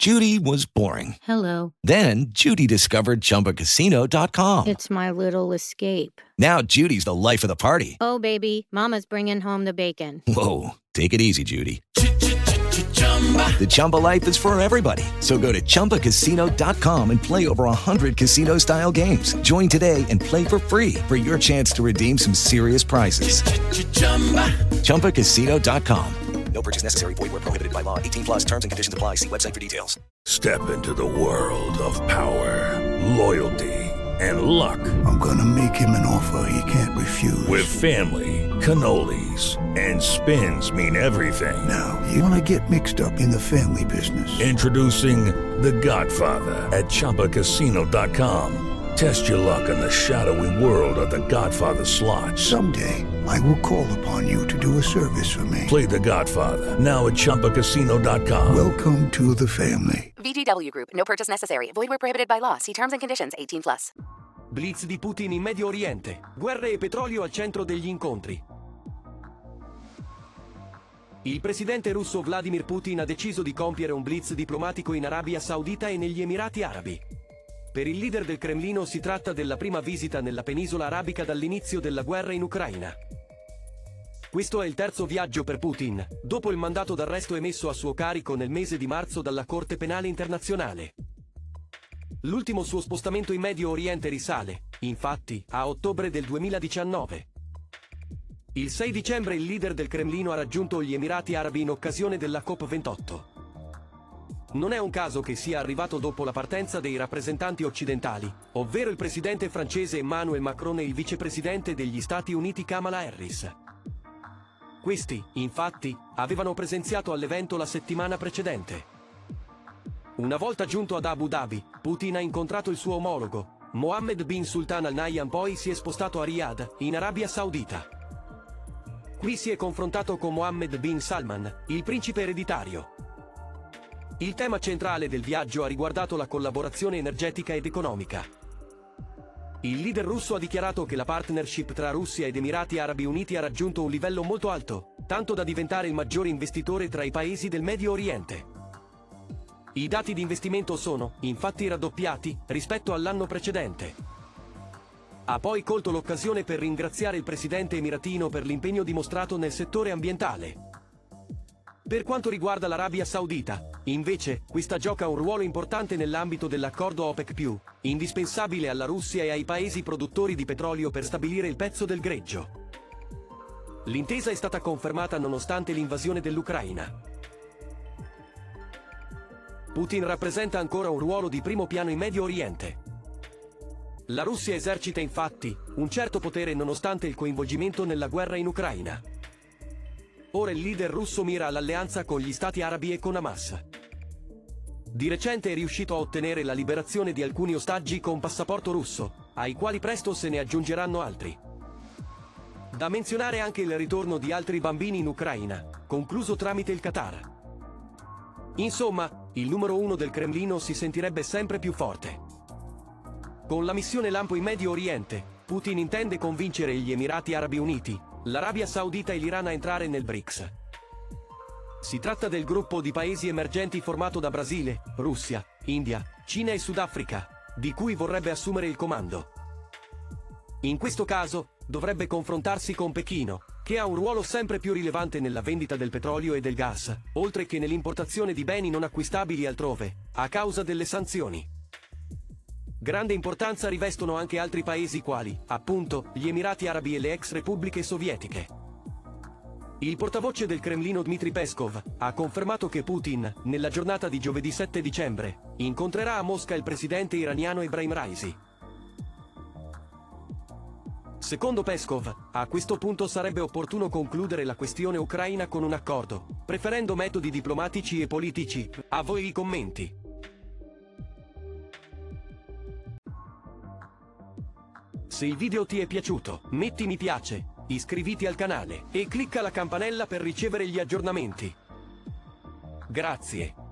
Judy was boring. Hello. Then Judy discovered ChumbaCasino.com. It's my little escape. Now Judy's the life of the party. Oh, baby, mama's bringing home the bacon. Whoa, take it easy, Judy. The Chumba life is for everybody. So go to ChumbaCasino.com and play over 100 casino-style games. Join today and play for free for your chance to redeem some serious prizes. ChumbaCasino.com. No purchase necessary. Void where prohibited by law. 18 plus terms and conditions apply. See website for details. Step into the world of power, loyalty, and luck. I'm gonna make him an offer he can't refuse. With family, cannolis, and spins mean everything. Now, you wanna get mixed up in the family business. Introducing The Godfather at ChumbaCasino.com. Test your luck in the shadowy world of The Godfather slot. Someday, I will call upon you to do a service for me. Play The Godfather, now at ChumbaCasino.com. Welcome to the family. VGW Group. No purchase necessary. Void where prohibited by law. See terms and conditions. 18 plus. Blitz di Putin in Medio Oriente. Guerre e petrolio al centro degli incontri. Il presidente russo Vladimir Putin ha deciso di compiere un blitz diplomatico in Arabia Saudita e negli Emirati Arabi. Per il leader del Cremlino si tratta della prima visita nella penisola arabica dall'inizio della guerra in Ucraina. Questo è il terzo viaggio per Putin, dopo il mandato d'arresto emesso a suo carico nel mese di marzo dalla Corte Penale Internazionale. L'ultimo suo spostamento in Medio Oriente risale, infatti, a ottobre del 2019. Il 6 dicembre il leader del Cremlino ha raggiunto gli Emirati Arabi in occasione della COP28. Non è un caso che sia arrivato dopo la partenza dei rappresentanti occidentali, ovvero il presidente francese Emmanuel Macron e il vicepresidente degli Stati Uniti Kamala Harris. Questi, infatti, avevano presenziato all'evento la settimana precedente. Una volta giunto ad Abu Dhabi, Putin ha incontrato il suo omologo, Mohammed bin Sultan Al Nahyan, poi si è spostato a Riyadh, in Arabia Saudita. Qui si è confrontato con Mohammed bin Salman, il principe ereditario. Il tema centrale del viaggio ha riguardato la collaborazione energetica ed economica. Il leader russo ha dichiarato che la partnership tra Russia ed Emirati Arabi Uniti ha raggiunto un livello molto alto, tanto da diventare il maggiore investitore tra i paesi del Medio Oriente. I dati di investimento sono, infatti, raddoppiati rispetto all'anno precedente. Ha poi colto l'occasione per ringraziare il presidente emiratino per l'impegno dimostrato nel settore ambientale. Per quanto riguarda l'Arabia Saudita, invece, questa gioca un ruolo importante nell'ambito dell'accordo OPEC+, indispensabile alla Russia e ai paesi produttori di petrolio per stabilire il prezzo del greggio. L'intesa è stata confermata nonostante l'invasione dell'Ucraina. Putin rappresenta ancora un ruolo di primo piano in Medio Oriente. La Russia esercita infatti un certo potere nonostante il coinvolgimento nella guerra in Ucraina. Ora il leader russo mira all'alleanza con gli Stati Arabi e con Hamas. Di recente è riuscito a ottenere la liberazione di alcuni ostaggi con passaporto russo, ai quali presto se ne aggiungeranno altri. Da menzionare anche il ritorno di altri bambini in Ucraina, concluso tramite il Qatar. Insomma, il numero uno del Cremlino si sentirebbe sempre più forte. Con la missione Lampo in Medio Oriente, Putin intende convincere gli Emirati Arabi Uniti, l'Arabia Saudita e l'Iran a entrare nel BRICS. Si tratta del gruppo di paesi emergenti formato da Brasile, Russia, India, Cina e Sudafrica, di cui vorrebbe assumere il comando. In questo caso, dovrebbe confrontarsi con Pechino, che ha un ruolo sempre più rilevante nella vendita del petrolio e del gas, oltre che nell'importazione di beni non acquistabili altrove, a causa delle sanzioni. Grande importanza rivestono anche altri paesi quali, appunto, gli Emirati Arabi e le ex repubbliche sovietiche. Il portavoce del Cremlino Dmitry Peskov ha confermato che Putin, nella giornata di giovedì 7 dicembre, incontrerà a Mosca il presidente iraniano Ebrahim Raisi. Secondo Peskov, a questo punto sarebbe opportuno concludere la questione ucraina con un accordo, preferendo metodi diplomatici e politici. A voi i commenti. Se il video ti è piaciuto, metti mi piace, iscriviti al canale e clicca la campanella per ricevere gli aggiornamenti. Grazie.